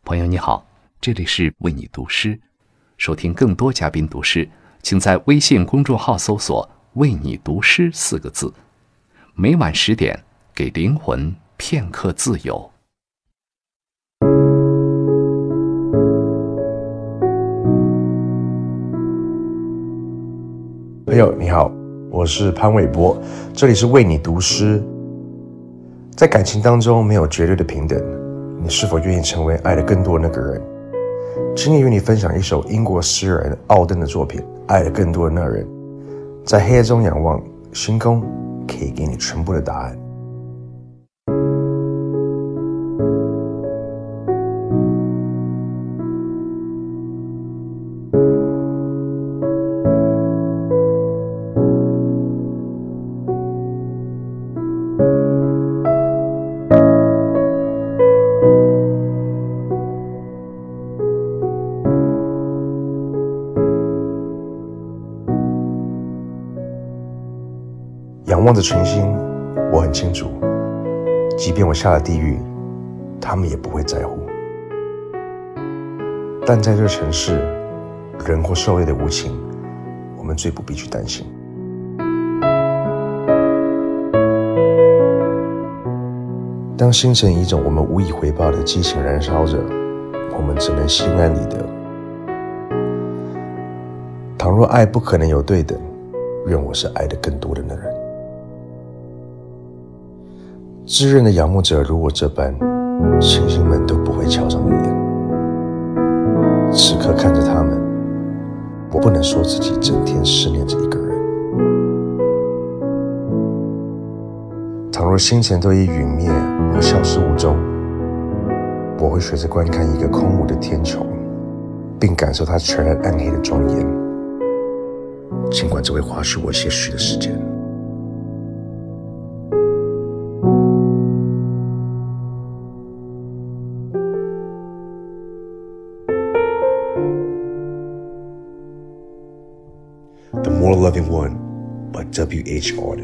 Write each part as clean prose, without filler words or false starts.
朋友你好，这里是为你读诗。收听更多嘉宾读诗，请在微信公众号搜索为你读诗4个字。每晚10点，给灵魂片刻自由。 朋友你好，我是潘玮柏，这里是为你读诗。在感情当中没有绝对的平等，你是否愿意成为爱的更多的那个人？今天与你分享一首英国诗人奥登的作品《爱的更多的那人》。在黑夜中仰望，星空可以给你全部的答案。仰望着群星，我很清楚，即便我下了地狱，他们也不会在乎。但在这城市，人或兽类的无情，我们最不必去担心。当星辰以一种我们无以回报的激情燃烧着，我们只能心安理得。倘若爱不可能有对等，愿我是爱的更多的那人。炙热的仰慕者如我这般，星星们都不会瞧上一眼。此刻看着他们，我不能说自己整天思念着一个人。倘若星辰都已陨灭而消失无踪，我会学着观看一个空无的天穹，并感受它全然暗黑的庄严，尽管这会花去我些许的时间。The More Loving One by W.H. Auden.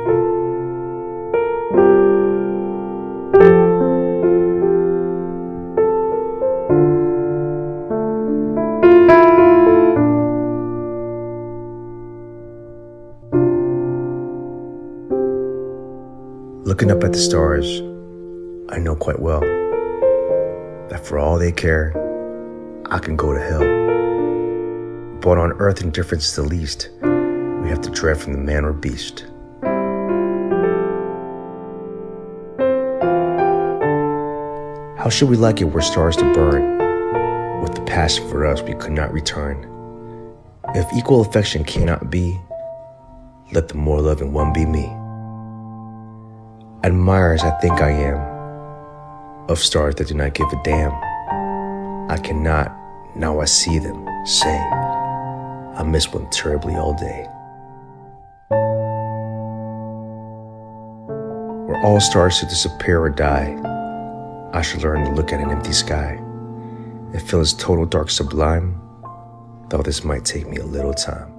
Looking up at the stars, I know quite well that for all they care, I can go to hell. But on earth indifference is the least we have to dread from the man or beast. How should we like it were stars to burn, with the passion for us we could not return? If equal affection cannot be, let the more loving one be me. Admire as I think I am, of stars that do not give a damn. I cannot, now I see them, say I miss one terribly all day. Were all stars to disappear or die, I should learn to look at an empty sky and feel its total dark sublime, though this might take me a little time.